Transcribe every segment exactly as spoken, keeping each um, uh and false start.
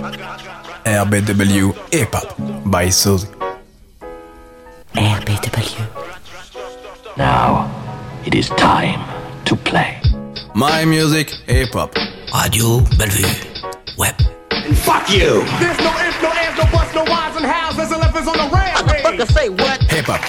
R B W Hip Hop by Suzy. R B W. Now, it is time to play. My Music Hip Hop. Radio Bellevue. Web. And fuck you! There's no ifs, no ands, no buts, no whys and hows. There's elephants on the rampage. Motherfucker, say what? Hip Hop.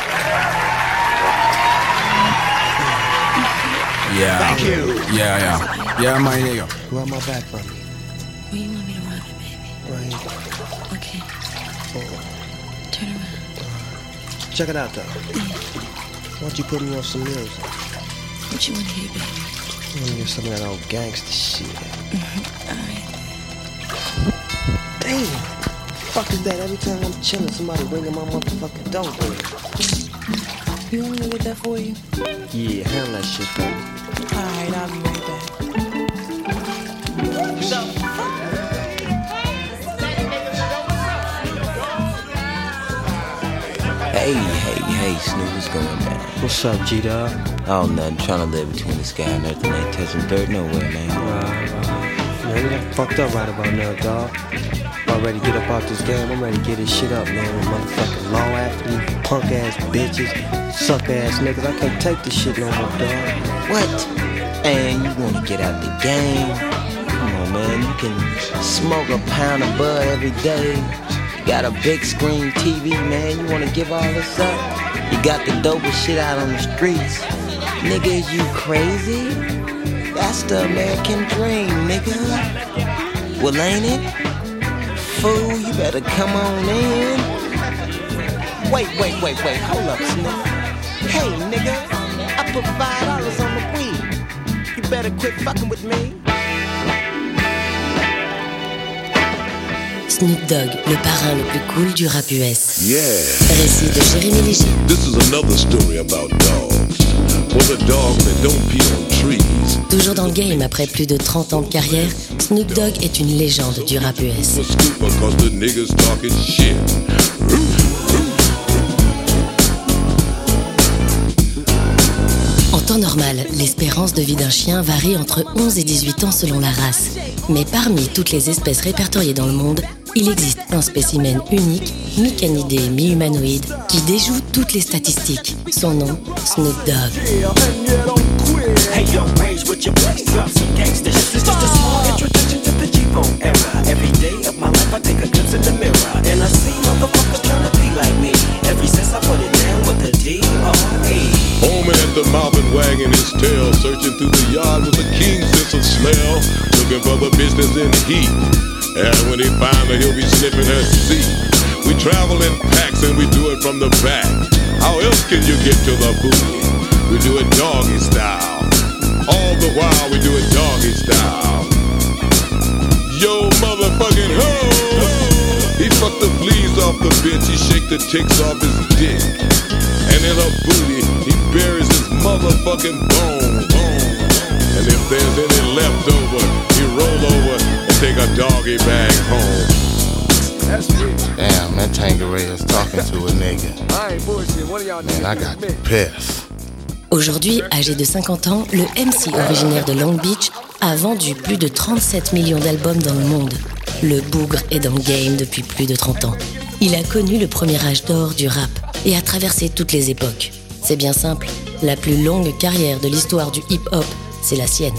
Yeah. Thank you. Yeah, yeah. Yeah, my nigga. Run my back from me. Where you want me to run it, baby? Right. Okay. Forward. Turn around. Check it out, though. Why don't you put me on some music? What you want to hear, baby? I want to hear some of that old gangster shit. Mm-hmm. All right. Damn. Fuck is that? Every time I'm chilling, somebody ringing my motherfucking doorbell. You want me to get that for you? Yeah, handle that shit for me. All right, I'll be right back. Hey, hey, hey, Snoop, what's going down? What's up, G-Dog? Oh, nothing. Trying to live between the sky and earth and ain't touching dirt nowhere, man. Right, right. Man, we done fucked up right about now, dog. I'm ready to get up out this game. I'm ready to get this shit up, man. With motherfucking law athletes, punk ass bitches, suck ass niggas. I can't take this shit no more, dog. What? And you wanna get out the game? Come on, man. You can smoke a pound of bud every day. You got a big screen T V, man. You wanna give all this up? You got the dopest shit out on the streets. Nigga, is you crazy? That's the American dream, nigga. Well, ain't it? Fool, you better come on in. Wait, wait, wait, wait, hold up, Snoop. Hey, nigga, I put five dollars on the weed. You better quit fucking with me. Snoop Dogg, le parrain le plus cool du rap U S. Yeah. Récit de Jérémy Léger. This is another story about dogs. For the dog that don't pee on trees. Toujours dans le game après plus de trente ans de carrière, Snoop Dogg est une légende du rap U S. Because the niggas talking shit. En temps normal, l'espérance de vie d'un chien varie entre onze et dix-huit ans selon la race. Mais parmi toutes les espèces répertoriées dans le monde, il existe un spécimen unique, mi-canidé, mi-humanoïde, qui déjoue toutes les statistiques. Son nom, Snoop Dogg. Hey yo, rage with your place, drop some gangsta. This is just a small introduction to the G-Bone era. Every day of my life I take a glimpse in the mirror, and I see motherfuckers trying to be like me. Ever since I put it down with the D R E. Homing at the mouth and wagging his tail, searching through the yard with a keen sense of smell, looking for the business in heat. And when he find her, he'll be sniffing her seat. We travel in packs and we do it from the back. How else can you get to the booty? We do it doggy style. All the while we do it doggy style. Yo, motherfucking ho! He fucked the fleas off the bitch, he shake the ticks off his dick. And in her booty, he buries his motherfucking bone. And if there's any left over, he roll over and take a doggy bag home. Damn, that Tangeray is talking to a nigga. Man, I got pissed. Aujourd'hui, âgé de cinquante ans, le M C originaire de Long Beach a vendu plus de trente-sept millions d'albums dans le monde. Le bougre est dans le game depuis plus de trente ans. Il a connu le premier âge d'or du rap et a traversé toutes les époques. C'est bien simple, la plus longue carrière de l'histoire du hip-hop, c'est la sienne.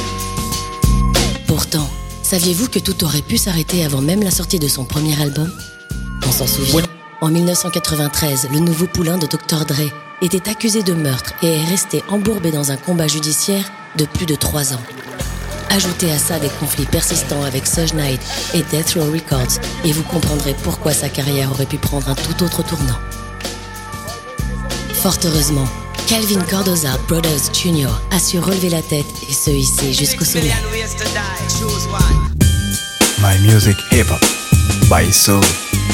Pourtant, saviez-vous que tout aurait pu s'arrêter avant même la sortie de son premier album ? On s'en souvient. En dix-neuf cent quatre-vingt-treize, le nouveau poulain de docteur Dre était accusé de meurtre et est resté embourbé dans un combat judiciaire de plus de trois ans. Ajoutez à ça des conflits persistants avec Suge Knight et Death Row Records et vous comprendrez pourquoi sa carrière aurait pu prendre un tout autre tournant. Fort heureusement, Calvin Cardoza Brothers Junior a su relever la tête et se hisser jusqu'au sommet. My Music Hip Hop by Soul.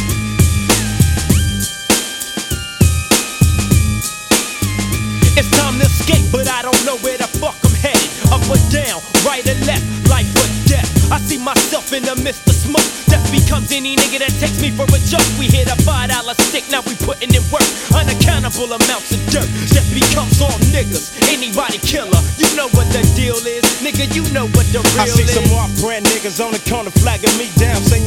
It's time to escape, but I don't know where the fuck I'm headed. Up or down, right or left, life or death. I see myself in the midst of smoke. Death becomes any nigga that takes me for a joke. We hit a five dollar stick, now we putting in work. Unaccountable amounts of dirt. Death becomes all niggas. Anybody killer, you know what the deal is. Nigga, you know what the real is. I see some off-brand niggas on the corner flagging me down, saying your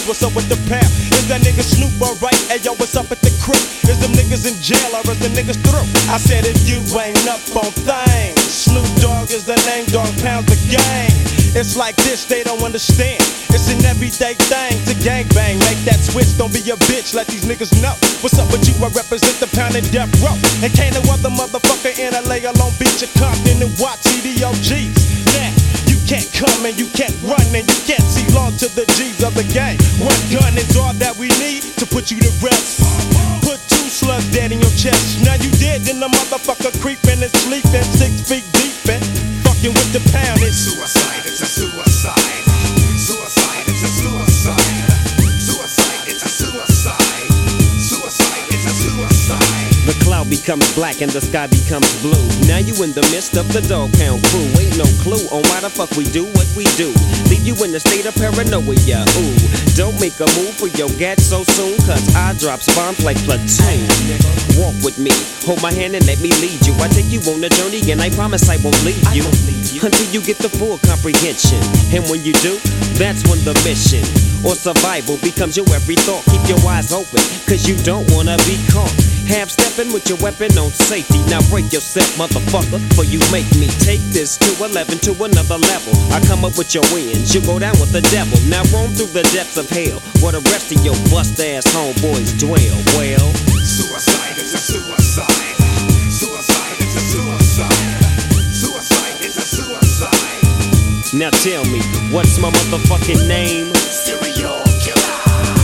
Is what's up with the pound? Is that nigga Snoop alright? Hey yo, what's up at the crib? Is them niggas in jail or is the niggas through? I said if you ain't up on things, Snoop Dogg is the name, Dog Pound's the gang. It's like this, they don't understand. It's an everyday thing to gangbang. Make that switch, don't be a bitch, let these niggas know. What's up with you? I represent the Pound and Death Row. And can't no other motherfucker in L A or Long Beach or Compton and watch C D O Gs. Now, you can't come and you can't run and you can't see long to the G's of the game. One gun is all that we need to put you to rest. Put two slugs dead in your chest. Now you dead, then the motherfucker creeping and sleeping six feet deep and fucking with the Pound. It's suicide, it's a suicide. Suicide, it's a suicide. Suicide, it's a suicide. Suicide, it's a suicide. The cloud becomes black and the sky becomes blue. Now you in the midst of the Dog Pound crew. Ain't no clue on why the fuck we do what we do. Leave you in a state of paranoia. Ooh, don't make a move for your gat so soon, cause I drops bombs like platoon. Walk with me, hold my hand and let me lead you. I take you on a journey and I promise I won't leave you until you get the full comprehension. And when you do, that's when the mission or survival becomes your every thought. Keep your eyes open, cause you don't wanna be caught. Half stepping with your weapon on safety. Now break yourself, motherfucker, for you make me take this to eleven to another level. I come up with your wins, you go down with the devil. Now roam through the depths of hell, where the rest of your bust-ass homeboys dwell. Well, suicide is a suicide. Suicide is a suicide. Suicide is a suicide. Now tell me, what's my motherfucking name? Serial killer.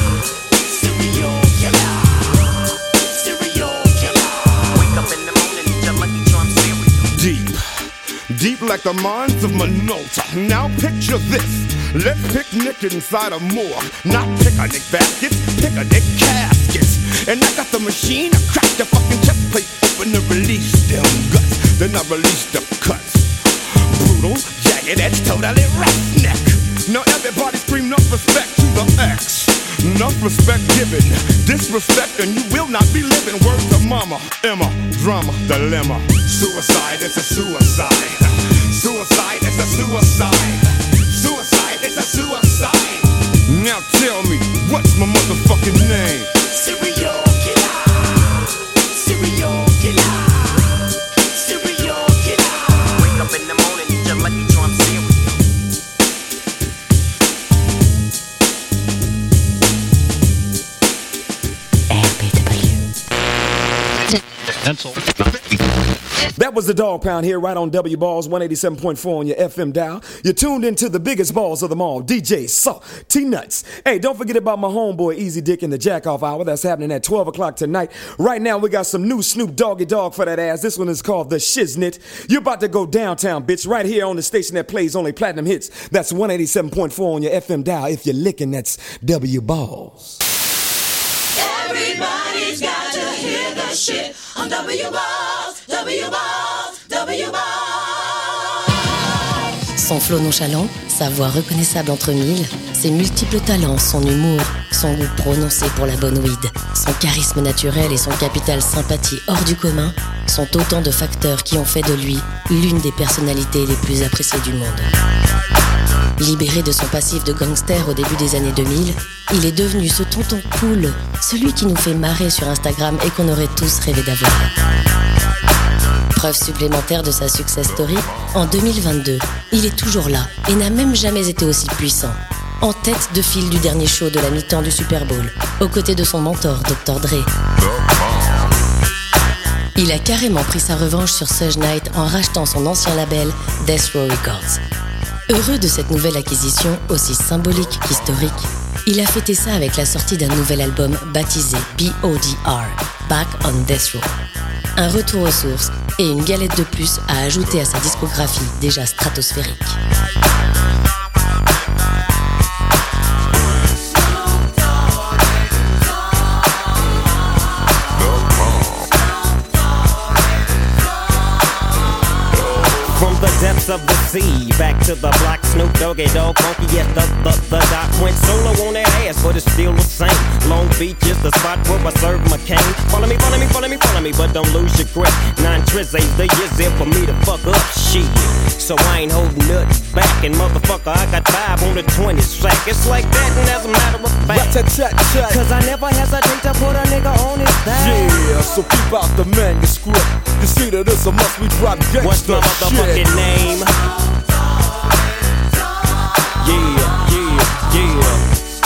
Serial killer. Serial killer. Wake up in the morning, your Lucky Charm cereal. Deep, deep like the mines of Minota. Now picture this. Let's picnic inside a morgue. Not picnic baskets, picnic caskets. And I got the machine, I crack the fucking chest plate open to release them guts. Then I release the cuts. Brutal, jagged edge, totally roughneck. Now everybody scream enough respect to the X. Enough respect given, disrespect and you will not be living. Word to mama, Emma, drama, dilemma. Suicide is a suicide. Suicide is a suicide. Suicide is a suicide. Now tell me, what's my motherfucking name? Serial killer. Serial killer. Serial killer. Wake up in the morning, your Lucky Charm cereal. That was the Dog Pound here right on W Balls one eighty-seven point four on your F M dial. You're tuned into the biggest balls of them all, D J Saw T-Nuts. Hey, don't forget about my homeboy Easy Dick in the Jack Off Hour. That's happening at twelve o'clock tonight. Right now, we got some new Snoop Doggy Dogg for that ass. This one is called The Shiznit. You're about to go downtown, bitch, right here on the station that plays only platinum hits. That's one eighty-seven point four on your F M dial. If you're licking, that's W Balls. Everybody's got to hear the shit on W Balls, W Balls, W Balls. Son flow nonchalant, sa voix reconnaissable entre mille, ses multiples talents, son humour, son goût prononcé pour la bonne weed, son charisme naturel et son capital sympathie hors du commun sont autant de facteurs qui ont fait de lui l'une des personnalités les plus appréciées du monde. Libéré de son passif de gangster au début des années deux mille, il est devenu ce tonton cool, celui qui nous fait marrer sur Instagram et qu'on aurait tous rêvé d'avoir. Preuve supplémentaire de sa success story, en deux mille vingt-deux, il est toujours là et n'a même jamais été aussi puissant. En tête de file du dernier show de la mi-temps du Super Bowl, aux côtés de son mentor, docteur Dre. Il a carrément pris sa revanche sur Suge Knight en rachetant son ancien label Death Row Records. Heureux de cette nouvelle acquisition, aussi symbolique qu'historique, il a fêté ça avec la sortie d'un nouvel album baptisé B O D R, Back on Death Row. Un retour aux sources et une galette de plus à ajouter à sa discographie déjà stratosphérique. Depths of the sea, back to the block, Snoop Doggy Dogg, funky, yes, the, the, the doc went solo on that ass, but it's still the same. Long Beach is the spot where I serve my cane. Follow me, follow me, follow me, follow me, but don't lose your grip. Nine trizzies, the year's there for me to fuck up, shit. so I ain't holding nothing back. And motherfucker, I got five on the twenty sack. It's like that, and as a matter of fact, cause I never hesitate to put a nigga on his back. Yeah, so keep out the manuscript. You see that it's a must we drop gangsta. What's my motherfucking shit. name? Yeah, yeah, yeah.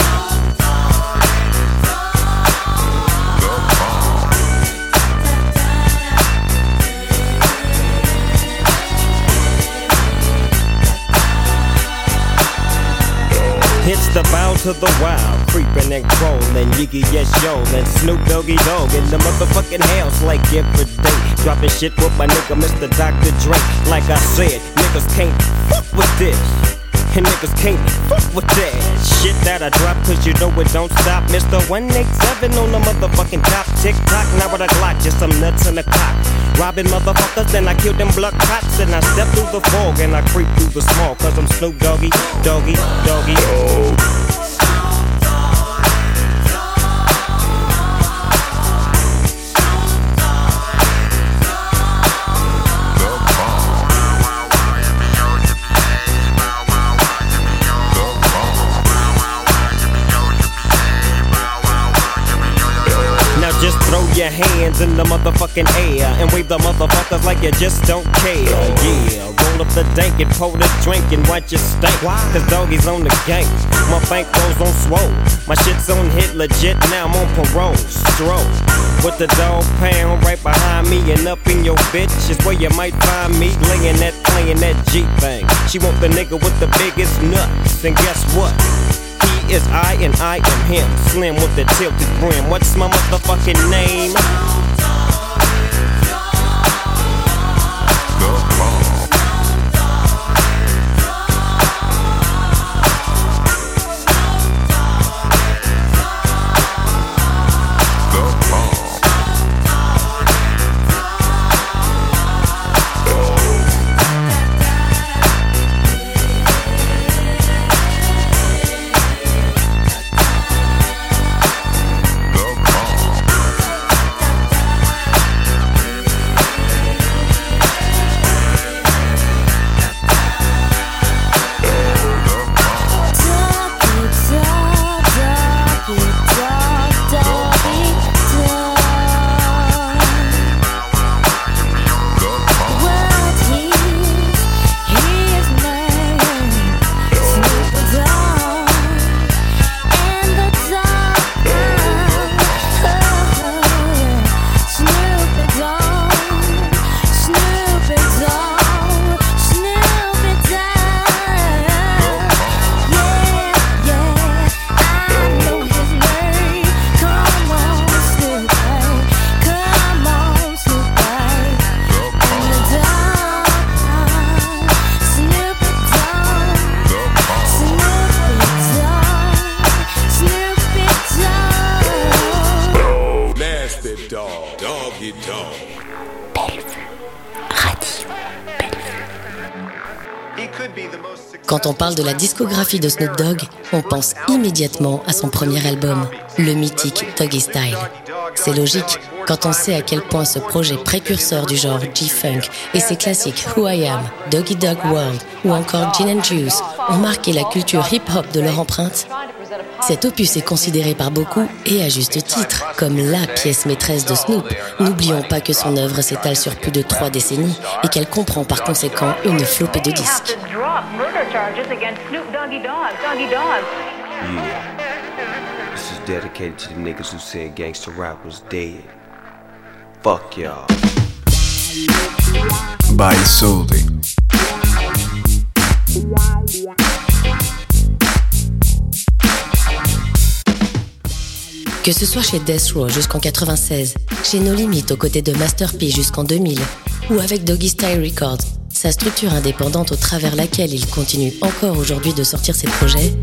It's the bow to the wild, creeping and crawling, Yiggy yes yo, and Snoop Doggy Dogg in the motherfucking house like every day. Dropping shit with my nigga Mister Doctor Dre. Like I said, niggas can't fuck with this, and niggas can't fuck with that shit that I drop, cause you know it don't stop. Mister one eighty-seven on the motherfucking top. Tick tock, now with a Glock, just some nuts in the cock. Robbing motherfuckers, then I kill them blood cops. And I step through the fog and I creep through the small, cause I'm Snoop Doggy, Doggy, Doggy. Oh. Just throw your hands in the motherfucking air and wave the motherfuckers like you just don't care. Yeah, roll up the dank and pour the drink and watch it stank. Cause doggies on the gang, my bankrolls on swole. My shit's on hit legit, now I'm on parole. Stroll with the dog pound right behind me and up in your bitch is where you might find me laying that, playing that G thing. She want the nigga with the biggest nuts, and guess what? He is I and I am him. Slim with the tilted brim. What's my motherfucking name? Quand on parle de la discographie de Snoop Dogg, on pense immédiatement à son premier album, le mythique Doggy Style. C'est logique quand on sait à quel point ce projet précurseur du genre G-Funk et ses classiques Who I Am, Doggy Dogg World ou encore Gin and Juice ont marqué la culture hip-hop de leur empreinte. Cet opus est considéré par beaucoup, et à juste titre, comme la pièce maîtresse de Snoop. N'oublions pas que son œuvre s'étale sur plus de trois décennies et qu'elle comprend par conséquent une flopée de disques. Yeah. This is dedicated to the niggas who said gangsta rap was dead. Fuck y'all. By Soulzy. Que ce soit chez Death Row jusqu'en quatre-vingt-seize, chez No Limit aux côtés de Master P jusqu'en deux mille, ou avec Doggy Style Records, sa structure indépendante au travers laquelle il continue encore aujourd'hui de sortir ses projets,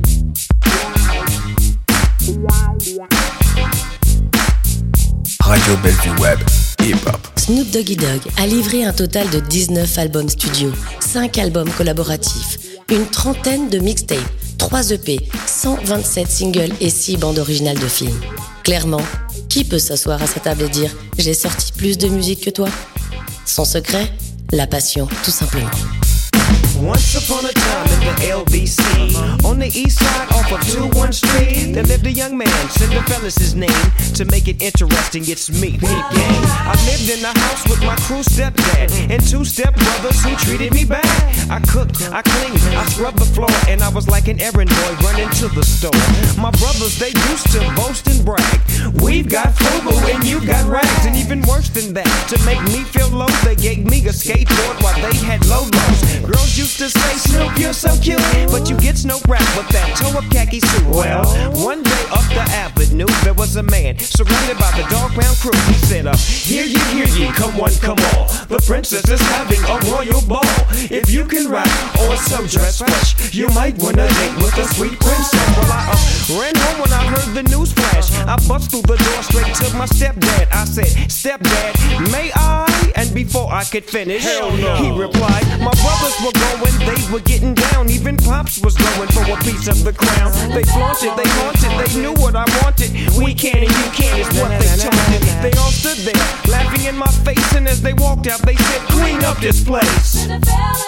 Radio Bellevue Web, hip-hop. Snoop Doggy Dogg a livré un total de dix-neuf albums studio, cinq albums collaboratifs, une trentaine de mixtapes, trois E P, cent vingt-sept singles et six bandes originales de films. Clairement, qui peut s'asseoir à sa table et dire « J'ai sorti plus de musique que toi ?» Son secret ? La passion, tout simplement. Once upon a time in the L B C, on the east side off of two one Street, there lived a young man, Cinderella's his name. To make it interesting, it's me, Peep Gang. I lived in the house with my crew stepdad and two stepbrothers who treated me bad. I cooked, I cleaned, I scrubbed the floor, and I was like an errand boy running to the store. My brothers, they used to boast and brag. We've got frugal and you got rags. And even worse than that, to make me feel low, they gave me a skateboard while they had low lows. Girls used to say, Snoop, you're so cute, but you get no rap with that toe-up khaki suit. Well, one day up the avenue, there was a man surrounded by the Dog Pound crew. He said, uh, hear ye, hear ye, come one, come all. The princess is having a royal ball. If you can rap or so dress fresh, you might wanna date with a sweet princess. Well, I uh, ran home when I heard the news flash. I bust through the door straight to my stepdad. I said, Stepdad, may I? And before I could finish, hell no, he replied, my brothers were going, they were getting down. Even Pops was going for a piece of the crown. They flaunted, they haunted, they knew what I wanted. We can and you can is what they taunted. They all stood there, laughing in my face, and as they walked out, they said, clean up this place. And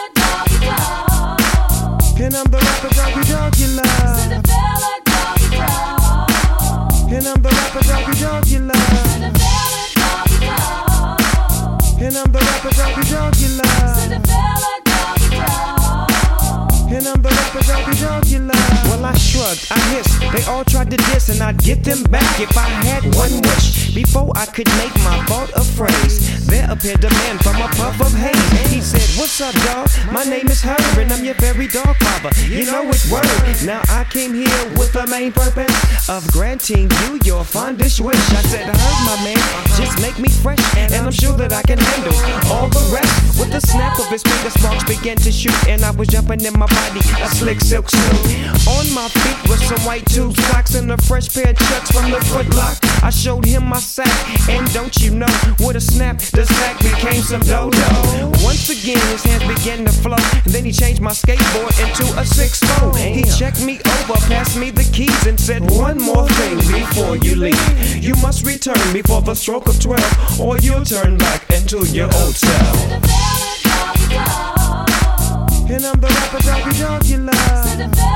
I'm the rapper doggy dog you love. And I'm the rapper doggy dog you love. And I'm the rapper doggy dog you love. And I'm the rapper doggy dog you love. Well, I shrugged, I hissed. They all tried to diss, and I'd get them back if I had one wish. Before I could make my thought a phrase, there appeared a man from a puff of haze. He said, what's up, dog? My name is Herb, and I'm your very dog father. You know it's word. Now I came here with the main purpose of granting you your fondest wish. I said, Herb, my man, just make me fresh, and I'm sure that I can handle all the rest. With the snap of his finger, sparks began to shoot, and I was jumping in my body, a slick silk suit. On my feet was some white tube socks and a fresh pair of chucks from the Foot Lock. I showed him my sack, and don't you know, with a snap, the sack became some dodo. Once again, his hands began to flow, and then he changed my skateboard into a six-four. He checked me over, passed me the keys, and said, one more thing before you leave. You must return before the stroke of twelve, or you'll turn back into your old self. And I'm the rapper doggy dog you love.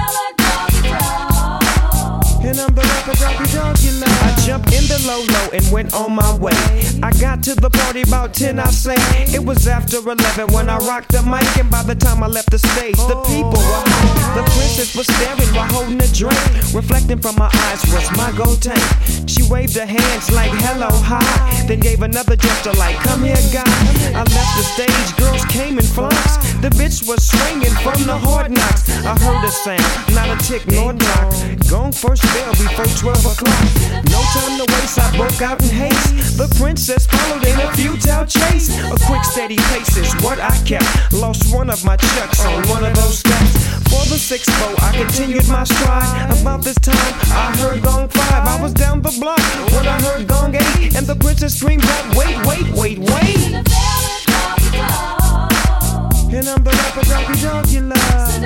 And I'm the rapper doggy dog you love. I jumped in the low-low and went on my way. I got to the party about ten, I say. It was after eleven when I rocked the mic, and by the time I left the stage, the people were high. The princess was staring while holding a drink. Reflecting from my eyes was my gold tank. She waved her hands like hello, hi, then gave another gesture like come here, guy. I left the stage, girls came in flocks. The bitch was swinging from the hard knocks. I heard a sound, not a tick nor knock. Gone first bell before twelve o'clock. No time to waste, I broke out in haste. The princess followed in a futile chase. A quick steady pace is what I kept. Lost one of my chucks on one of those steps. For the six four, I continued my stride. About this time, I heard gong five. I was down the block when I heard gong eight, and the princess screamed out, wait, wait, wait, wait. And I'm the rapper doggy dog you love.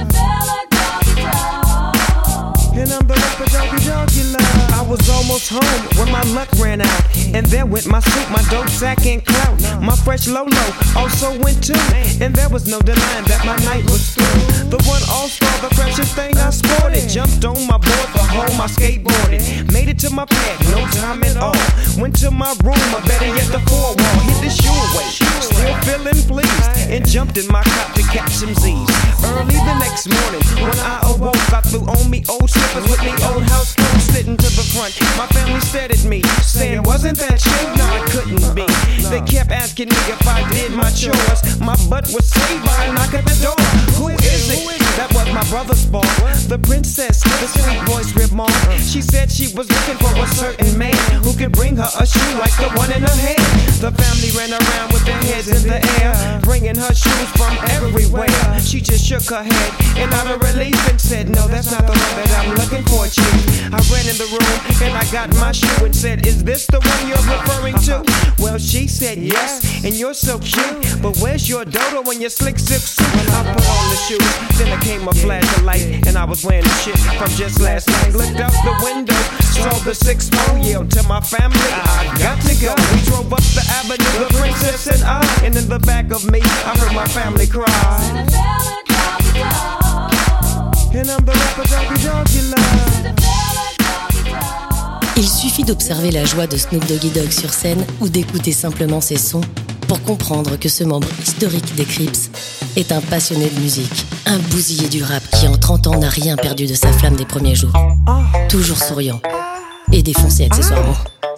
And I'm the rapper doggy dog you love. I was almost home when my luck ran out, and there went my suit, my dope sack and clout. My fresh Lolo also went too, and there was no denying that my night was through. The one all-star, the freshest thing I sported. Jumped on my board for home, I skateboarded. Made it to my pad, no time at all. Went to my room, or better yet the four wall. Hit the shoe away, still feeling pleased, and jumped in my cop to catch some Z's. Early the next morning, when I awoke, I threw on me old slippers with me old house clothes, sitting to the front. My family stared at me, saying, wasn't that you? No, it couldn't be. They kept asking me if I did my chores. My butt was saved by a knock at the door. Who is it? That was my brother's ball. The princess, the sweet voice remarked. She said she was looking for a certain man who could bring her a shoe like the one in her hand. The family ran around with their heads in the air, bringing her shoes from everywhere. She just shook her head and out of relief and said, no, that's not the one that I'm looking for, chief. I ran in the room and I got my shoe and said, is this the one you're referring to? Well, she said yes, and you're so cute, but where's your dodo and your slick zip suit? I put on the shoes, then there came a flash of light, and I was wearing the shit from just last night. Looked out the window, saw the six four, yelled to my family, I got to go. We drove up the avenue, the princess and I, and in the back of me, I heard my family cry. Il suffit d'observer la joie de Snoop Doggy Dogg sur scène ou d'écouter simplement ses sons pour comprendre que ce membre historique des Crips est un passionné de musique, un bousillé du rap qui en trente ans n'a rien perdu de sa flamme des premiers jours. Toujours souriant et défoncé accessoirement.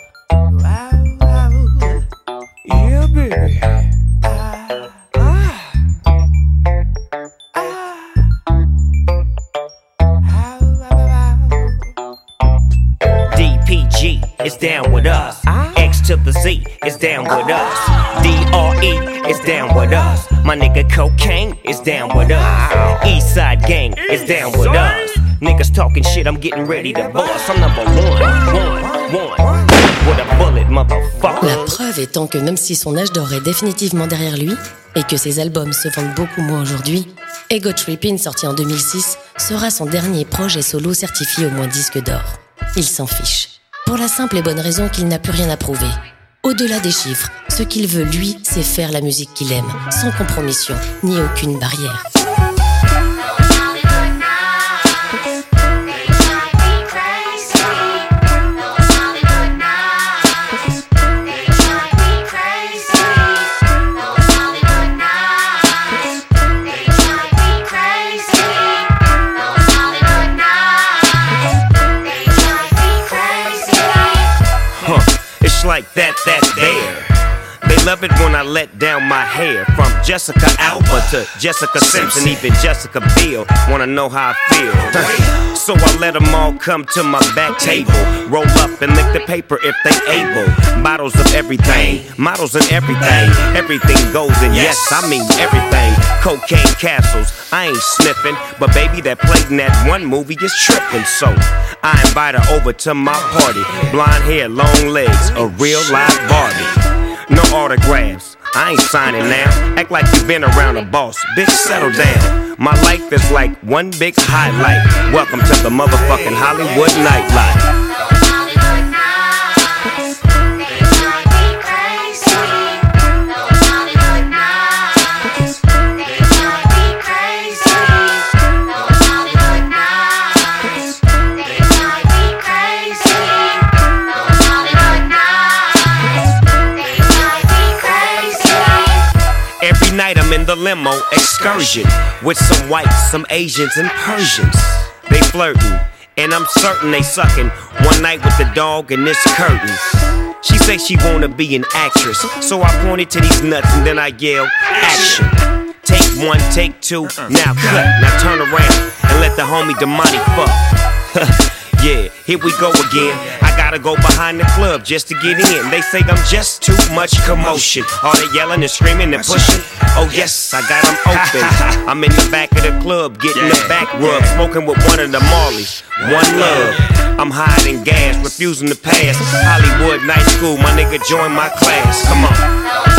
Yeah, baby. D P G is down with us. X to the Z is down with us. D R E is down with us. My nigga Cocaine is down with us. East Side Gang is down with us. Niggas talking shit, I'm getting ready to bust. I'm number one, one, one. With a bullet, motherfucker. La preuve étant que même si son âge d'or est définitivement derrière lui et que ses albums se vendent beaucoup moins aujourd'hui, Ego Trippin', sorti en deux mille six, sera son dernier projet solo certifié au moins disque d'or. Il s'en fiche. Pour la simple et bonne raison qu'il n'a plus rien à prouver. Au-delà des chiffres, ce qu'il veut, lui, c'est faire la musique qu'il aime, sans compromission, ni aucune barrière. Like that, that there. They love it when I let down my hair. From Jessica Alba to Jessica Simpson, even Jessica Biel wanna know how I feel. So I let them all come to my back table, roll up and lick the paper if they able. Bottles of everything, models and everything. Everything goes and yes, I mean everything. Cocaine castles, I ain't sniffing, but baby that played in that one movie is tripping. So I invite her over to my party. Blonde hair, long legs, a real live Barbie. No autographs, I ain't signing now. Act like you been around a boss, bitch, settle down. My life is like one big highlight. Welcome to the motherfucking Hollywood nightlife. Every night I'm in the limo excursion with some whites, some Asians, and Persians. They flirting, and I'm certain they sucking. One night with the dog and this curtain. She say she wanna be an actress, so I pointed to these nuts and then I yell, action. Take one, take two, now cut, now turn around and let the homie Damani fuck. Yeah, here we go again. I gotta go behind the club just to get in. They say I'm just too much commotion. All they yelling and screaming and pushing. Oh yes, I got them open. I'm in the back of the club getting the back rub, smoking with one of the Marleys. One love. I'm hiding gas, refusing to pass. Hollywood night school, my nigga join my class. Come on.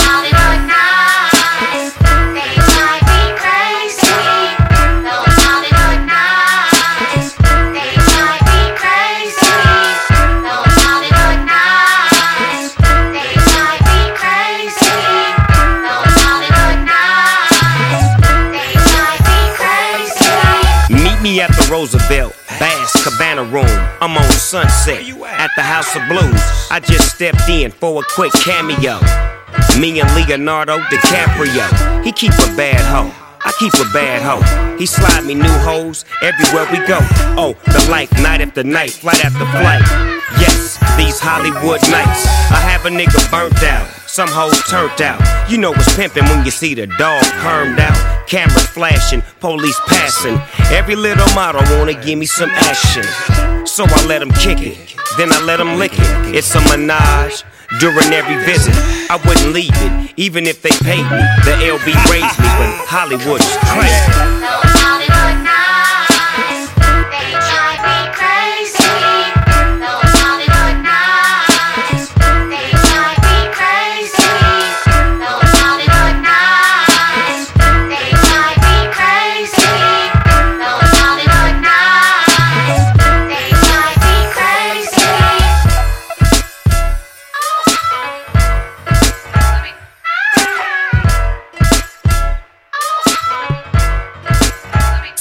Me at the Roosevelt, Bass Cabana Room. I'm on Sunset at the House of Blues. I just stepped in for a quick cameo. Me and Leonardo DiCaprio. He keep a bad hoe, I keep a bad hoe. He slide me new hoes everywhere we go. Oh, the life, night after night, flight after flight. Yes, these Hollywood nights. I have a nigga burnt out, some hoes turned out. You know what's pimpin' when you see the dog permed out. Cameras flashing, police passing. Every little model wanna give me some action. So I let them kick it, then I let them lick it. It's a menage during every visit. I wouldn't leave it, even if they paid me. The L B raised me, but Hollywood is crazy.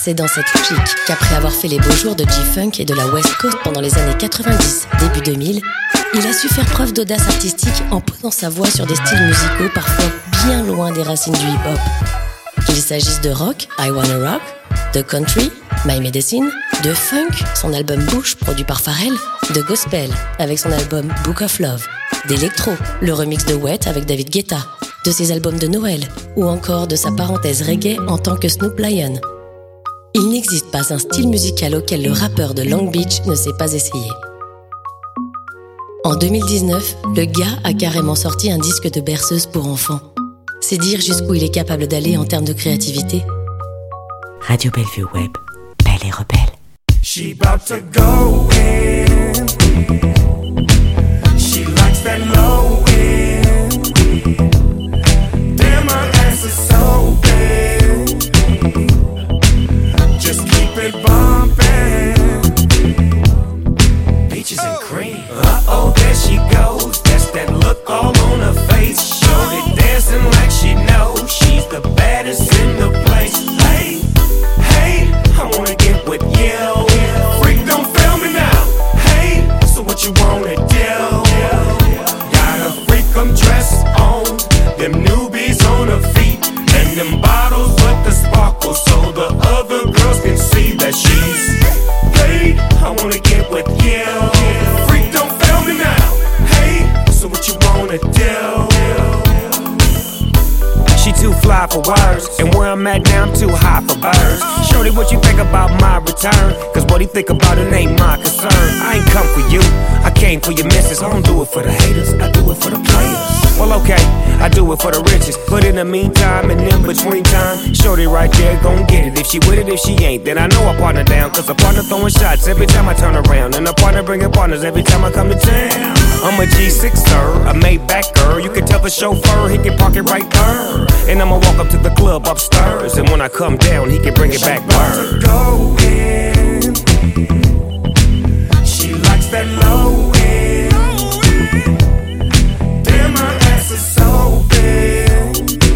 C'est dans cette logique qu'après avoir fait les beaux jours de G-Funk et de la West Coast pendant les années quatre-vingt-dix, début deux mille, il a su faire preuve d'audace artistique en posant sa voix sur des styles musicaux parfois bien loin des racines du hip-hop. Qu'il s'agisse de rock, I Wanna Rock, de country, My Medicine, de funk, son album Bush produit par Pharrell, de gospel avec son album Book of Love, d'électro, le remix de Wet avec David Guetta, de ses albums de Noël ou encore de sa parenthèse reggae en tant que Snoop Lion. Il n'existe pas un style musical auquel le rappeur de Long Beach ne s'est pas essayé. En deux mille dix-neuf, le gars a carrément sorti un disque de berceuse pour enfants. C'est dire jusqu'où il est capable d'aller en termes de créativité. Radio Bellevue Web, belle et rebelle. She about to go in. She likes that low end. Damn, my ass is so big. Just keep it bumping. Peaches and cream. Uh-oh, there she goes. That's that look all on her face. Shorty dancing like she knows she's the baddest in the place. Hey, hey, I wanna get with you. Freak, don't fail me now. Hey, so what you wanna do? Got a freak, I'm dressed on. Them newbies on her feet. And them bottles with the sparkle. So the other girls can see that she's paid. I wanna get with you. Freak, don't fail me now. Hey, so what you wanna do? She too fly for words, and where I'm at now I'm too high for birds. Shorty, what you think about my return? Cause what he think about it ain't my concern. I ain't come for you, I came for your missus. I don't do it for the haters, I do it for the players. Well okay, I do it for the riches. But in the meantime and in between time, Shorty right there gon' get it. If she with it, if she ain't, then I know I partner down. Cause a partner throwing shots every time I turn around, and a partner bringing partners every time I come to town. I'm a G sixer, a Maybach-er. You can tell the chauffeur he can park it right there. And I'ma walk up to the club upstairs, and when I come down, he can bring it back word. Go in. She likes that low end. Damn, my ass is so big.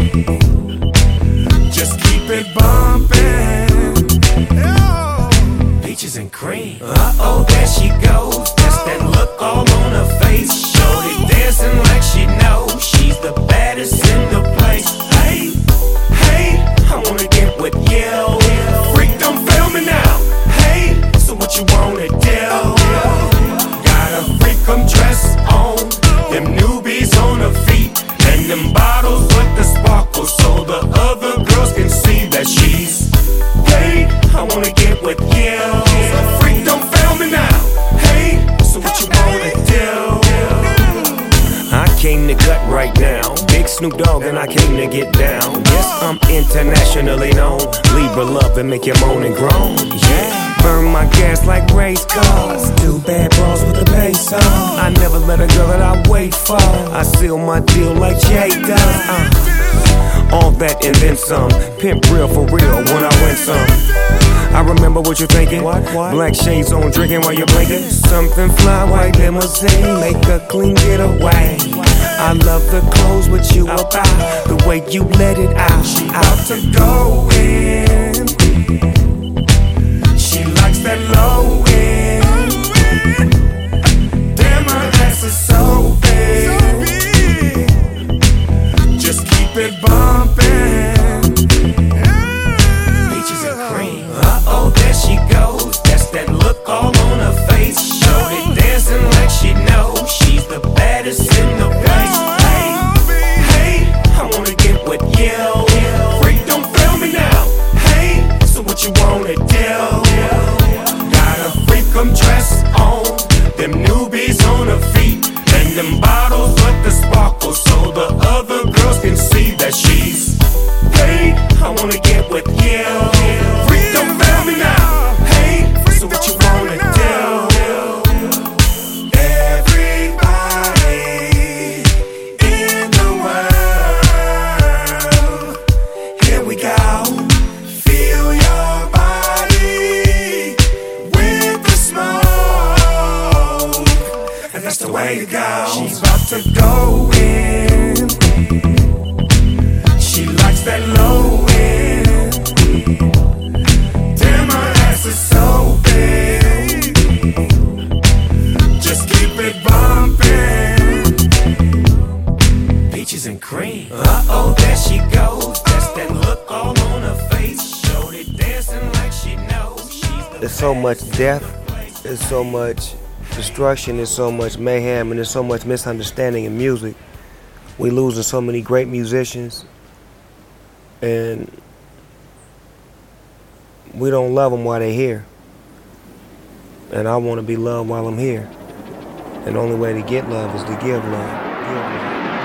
Just keep it bumping. Peaches and cream. Uh-oh, there she goes. That's that look all on her face. Shorty dancing like she knows she's the baddest in the place. Hey, hey, I wanna get with you. Freak, don't fail me now. Hey, so what you wanna do? Got a freak, I'm dressed on. Them newbies on her feet. And them bottles with the sparkle. So the other girls can see that she's paid. I wanna get with you. Freak, don't fail me now. Hey, so what you wanna do? I came to gut right now. Big Snoop Dogg and I came to get down. Yes, I'm internationally known. Libra love and make you moan and groan. Yeah, burn my gas like race cars. Two bad bras with the bass on. I never let a girl that I wait for. I seal my deal like Jay does. Uh. All that and then some. Pimp real for real when I win some. I remember what you're thinking. What, what? Black shades on, drinking while you're blinking. Something fly, white limousine, make a clean getaway. I love the clothes with you about, the way you let it out. She about to go in. She likes that low end. Damn, my ass is so big. Just keep it bumping. Peaches and cream. Uh-oh, there she goes. That's that look all on her face. Shorty dancing like she knows she's the baddest in the place. Hey, hey, I wanna get with you. Freak, don't fail me now. Hey, so what you wanna do? Got a freak, I'm dressed on. Them newbies on her feet. And them bottles with the sparkle. So the other girls can see that she's paid. I wanna get with you. Freak, don't fail me now. Hey, so what you wanna do? Everybody in the world, here we go. Feel your body with the smoke, and that's the way to go. She's about to go in. She likes that low end. so much death, there's so much destruction, there's so much mayhem, and there's so much misunderstanding in music. We losing so many great musicians, and we don't love them while they're here. And I want to be loved while I'm here. And the only way to get love is to give love. Give love.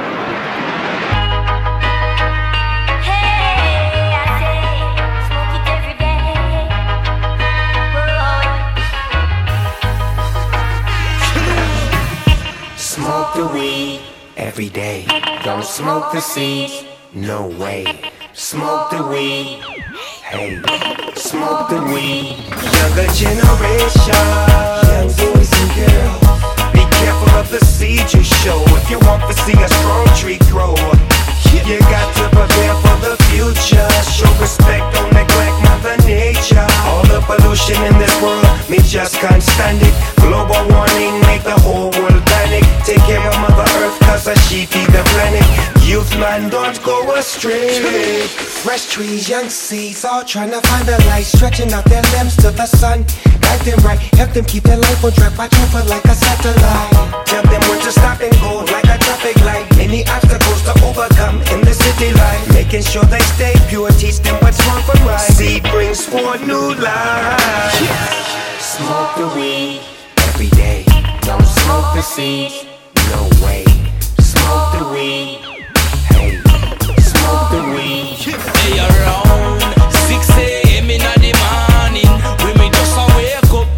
Smoke the weed every day. Don't smoke the seeds, no way. Smoke the weed, hey. Smoke the weed. Younger generation, young boys and girls, be careful of the seeds you show. If you want to see a strong tree grow, you got to prepare for the future. Show respect, don't neglect Mother Nature. All the pollution in this world, me just can't stand it. Global warming make the whole world panic. Take care of Mother Earth, cause she feed the planet. Youth man, don't go astray. Fresh trees, young seeds, all trying to find the light, stretching out their limbs to the sun. Guide them right, help them keep their life on track, watch over like a satellite. Tell them when to stop and go like a traffic light. Any obstacles to overcome in the city life. Making sure they stay pure, teach them what's wrong from right. Seed brings forth new life. Smoke the weed every day. Don't smoke the seeds, no way. Smoke the weed, hey. Smoke the weed. Hey, around six a.m. in the morning, when me just a wake up,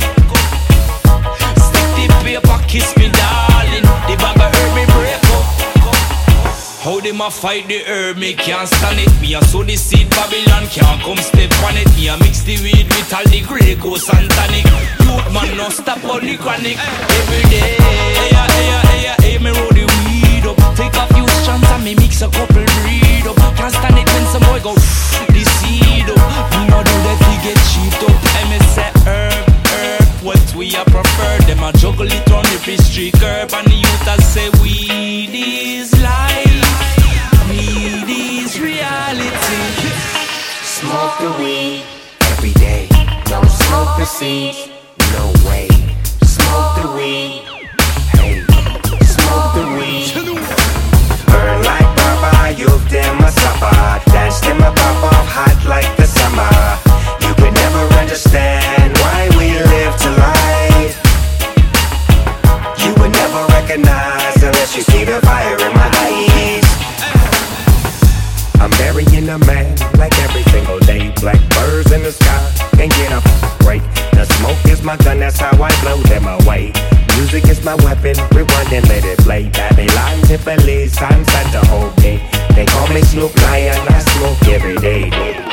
stick the paper, kiss me darling. The bag of herb me break up. How them a fight the herb, me can't stand it. Me a sow the seed, Babylon can't come step on it. Me a mix the weed with all the Grey Goose and tonic. Youth man no stop on the chronic. Every day, hey, hey, hey, hey, me roll the weed up. Take a few strands and me mix a couple breed up. Can't stand it when some boy go the seed up. Me no do that, we get cheap up. I me say herb, herb, what we a prefer. Them a juggle it on the pastry curb. And the youth a say weed is life. Weed is reality. Smoke the weed every day. Don't smoke the seeds, no way. Smoke the weed, hey. Smoke the weed. Burn like Baba, youth them a supper. Dance them a pop off hot like the summer. You could never understand why we live to life. You would never recognize unless you see the fire in my eyes. I'm burying a man like every single day. Black birds in the sky, can't get a break. The smoke is my gun, that's how I blow them away. Music is my weapon, rewind and let it play. Babylon, Tiffany, sunset the whole day. They call me Snoop Lion, I smoke every day.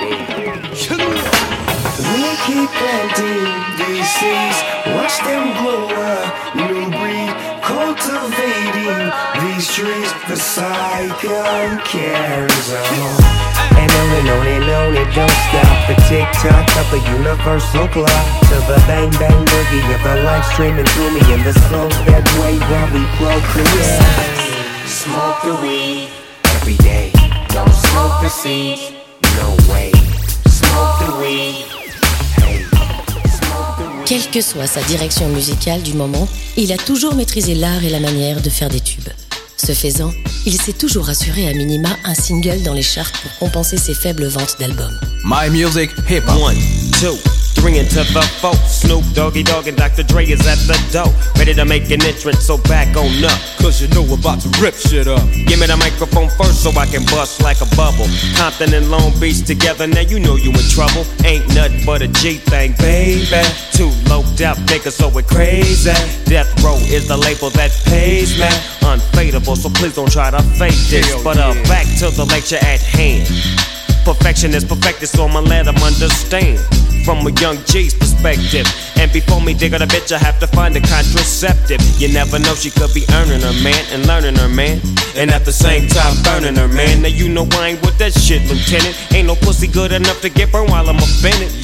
We keep planting these seeds, watch them grow a new breed. Cultivating these trees, the cycle carries on. And on and on and on, it don't stop. The tick-tock of the universal clock, to the bang-bang boogie of the life streaming through me in the slow that way while we procreate. Smoke the weed every day. Don't smoke the seeds, no way. Smoke the weed. Quelle que soit sa direction musicale du moment, il a toujours maîtrisé l'art et la manière de faire des tubes. Ce faisant, il s'est toujours assuré à minima un single dans les charts pour compenser ses faibles ventes d'albums. My music, hip-hop. One, two, three into the four. Snoop Doggy Dogg and Doctor Dre is at the door, ready to make an entrance, so back on up. Cause you know we're about to rip shit up. Give me the microphone first so I can bust like a bubble. Compton and Long Beach together, now you know you in trouble. Ain't nothing but a G thing, baby. Two loped out niggas, so we're crazy. Death Row is the label that pays me. Unfadable, so please don't try to fake this. But uh, back to the lecture at hand. Perfection is perfected, so I'ma let them understand from a young G's perspective. And before me dig on a bitch, I have to find a contraceptive. You never know, she could be earning her man and learning her man, and at the same time burning her man. Now you know I ain't with that shit, Lieutenant. Ain't no pussy good enough to get burned while I'm offended. Yeah.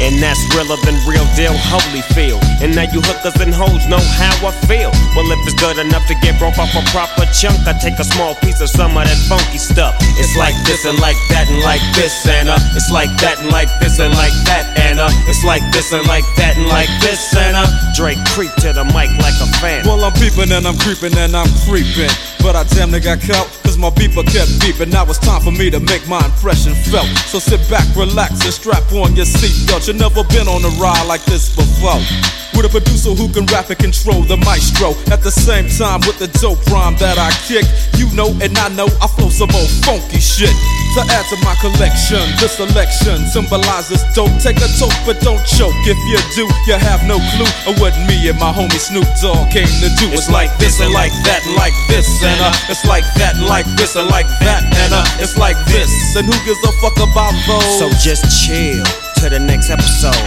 And that's realer than real deal Holyfield. And now you hookers and hoes know how I feel. Well, if it's good enough to get broke off a proper chunk, I take a small piece of some of that funky stuff. It's like this and like that and like this and uh it's like that and like this and like that and uh it's like this and like that and like this and uh Drake creep to the mic like a fan. Well, I'm peeping and I'm creeping and I'm creeping, but I damn near got caught cause my beeper kept beeping. Now it's time for me to make my impression felt. So sit back, relax and strap on your seatbelt. You've never been on a ride like this before, with a producer who can rap and control the maestro. At the same time with the dope rhyme that I kick, you know and I know I flow some old funky shit. To add to my collection, this selection symbolizes dope. Take a toke but don't choke. If you do, you have no clue of what me and my homie Snoop Dogg came to do. It's like this and like that and like this and uh it's like that and like this and like that and uh it's like this. And who gives a fuck about those? So just chill to the next episode.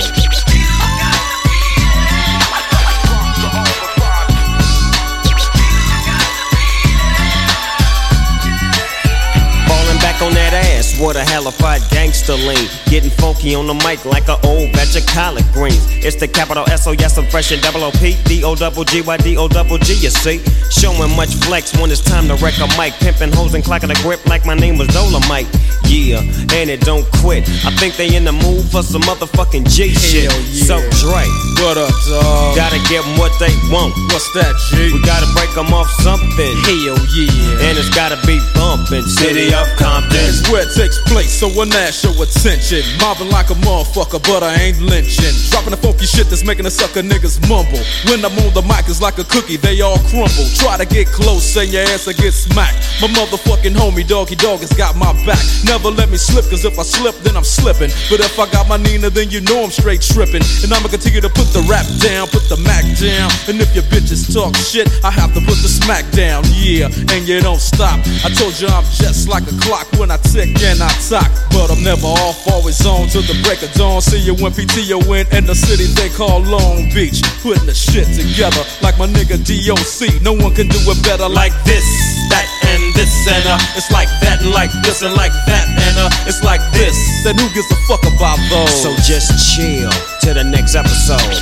On that ass, what a halified gangster lean. Getting funky on the mic like an old batch of collard greens. It's the capital S O, yes, I'm fresh and double O P. D O double G Y D O double G, you see. Showing much flex when it's time to wreck a mic. Pimping hoes and clocking a grip like my name was Dolomite. Yeah, and it don't quit. I think they in the mood for some motherfucking G shit. Yeah. So Dre, what up, dog? Gotta give them what they want. What's that, G? We gotta break them off something. Hell yeah. And it's gotta be bumpin'. City of Compton. It's where it takes place, so when that show attention. Mobbing like a motherfucker, but I ain't lynching. Dropping the funky shit that's making the sucker niggas mumble. When I'm on the mic, it's like a cookie, they all crumble. Try to get close, and your ass will get smacked. My motherfucking homie, Doggy Dog, has got my back. Never let me slip, cause if I slip, then I'm slipping. But if I got my Nina, then you know I'm straight tripping. And I'ma continue to put the rap down, put the Mac down. And if your bitches talk shit, I have to put the smack down. Yeah, and you don't stop. I told you I'm just like a clock when I tick and I talk. But I'm never off, always on till the break of dawn. See you when P T O in in the city they call Long Beach. Putting the shit together like my nigga D O C. No one can do it better like this, that, and this, and uh it's like that, and like this, and like that, and uh it's like this. Then who gives a fuck about those? So just chill to the next episode.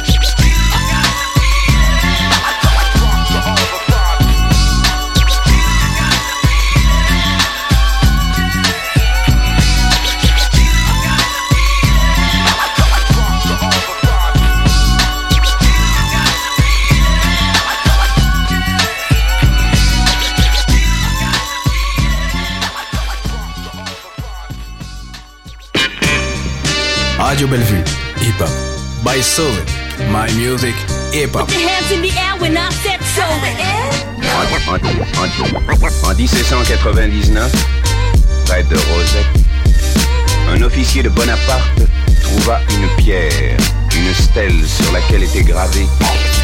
Radio Bellevue, hip hop. By Soul, my music, hip hop. Put your hands in the air when I said so. En, en, en, en dix-sept cent quatre-vingt-dix-neuf, près de Rosette, un officier de Bonaparte trouva une pierre, une stèle sur laquelle était gravé